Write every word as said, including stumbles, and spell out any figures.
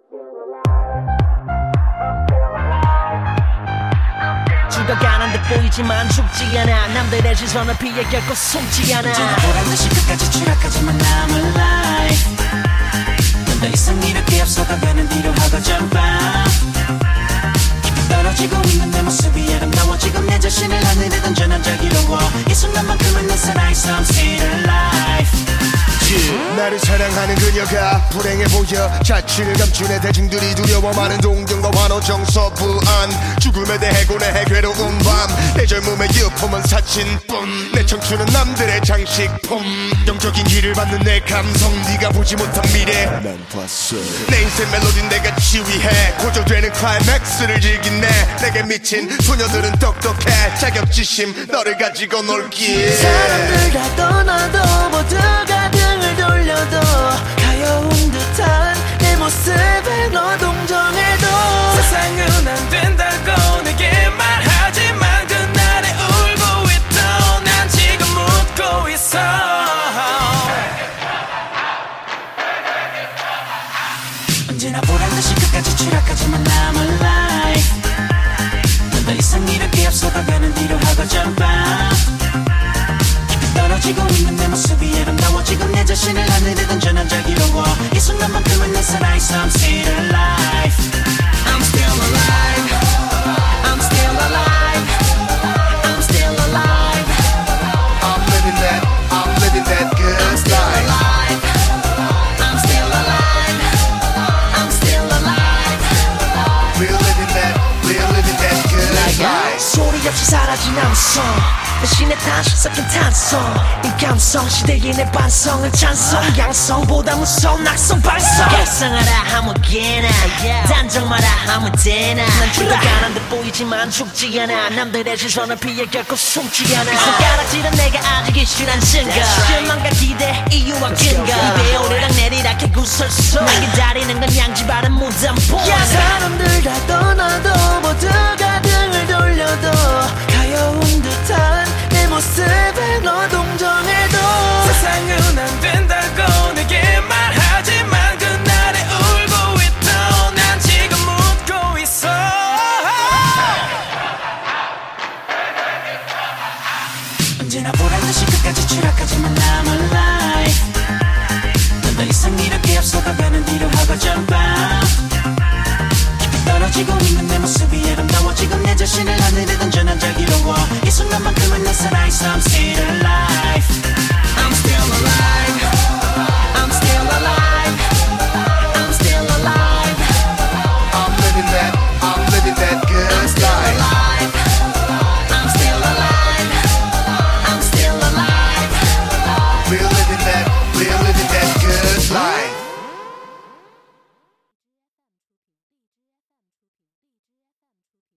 죽어가는 듯 보이지만 죽지 않아. 남들의 시선을 피해 결코 숨지 않아. 언제나 보란듯이 끝까지 추락하지만 I'm alive. 넌 더 이상 이렇게 앞서가가는 뒤로 하고 jump out. 깊이 떨어지고 있는 내 모습이 아름다워. 지금 내 자신을 하늘에 던져 난 자기로워. 이 순간만큼은 내 살아있어 I'm still alive. 나를 사랑하는 그녀가 불행해 보여. 자취를 감춘 애 대중들이 두려워. 많은 동경과 환호 정서 불안. 죽음에 대해 고뇌해 괴로운 밤. 내 젊음의 유품은 사진뿐. 내 청춘은 남들의 장식품. 영적인 길을 받는 내 감성. 네가 보지 못한 미래 난 봤어. 내 인생 멜로디 내가 지휘해. 고조되는 클라이맥스를 즐긴 내 내게 미친 소녀들은 똑똑해. 자격지심 너를 가지고 놀기. 사람들 다 떠나도 모두가 등을 돌려도 가여운 듯한 내 모습에 너 동정해도 세상은 안 된다고 내게 말하지만 그날에 울고 있던 난 지금 웃고 있어. 언제나 보란듯이 끝까지 추락하지만 I'm alive. 넌 더 이상 이렇게 앞서가가는 뒤로 하고 jump out. 깊이 떨어지고 있는 내 모습이 아름다워. 지금 내 자신을 하늘에 던져 난 자기로워. 이 순간만큼은 내 살아있어 I'm still alive. I'm still alive. I'm still alive. I'm still alive. I'm living that, I'm living that good I'm still life. alive. I'm still alive. I'm still alive. We're living that, we're living that good life. 소리 없이 사라진 암성 대신에 다시 섞인 탄성. 이 감성 시대의 내 반성은 찬성. 양성보다 무서운 낙성 발성. 각성하라 아무개나 단정마라 아무데나. 난 죽어가는 듯 보이지만 죽지 않아. 남들의 시선을 피해 결코 숨지 않아. 손가락질은 내가 아직 이슈란 증거. 실망과 기대 이유와 근거. 입에 오르락 내리락 해 구설수. 날 기다리는 건 양지바른 무덤보. 사람들 다 떠나도 모두가 등을 돌려도 가여운 듯한 내 모습에 너 동정해도 세상은 안 된다고 내게 말하지만 그날에 울고 있던 난 지금 웃고 있어. 언제나 보란듯이 끝까지 추락하지만 I'm alive. 넌 더 이상 이렇게 앞서가가는 뒤로 하고 jump out. 깊이 떨어지고 있는 내 모습이 아름다워. 지금 내 자신을 하늘에 던져 난 자기로워. 이 순간만큼은 내 살아있어 I'm still alive. I'm still alive.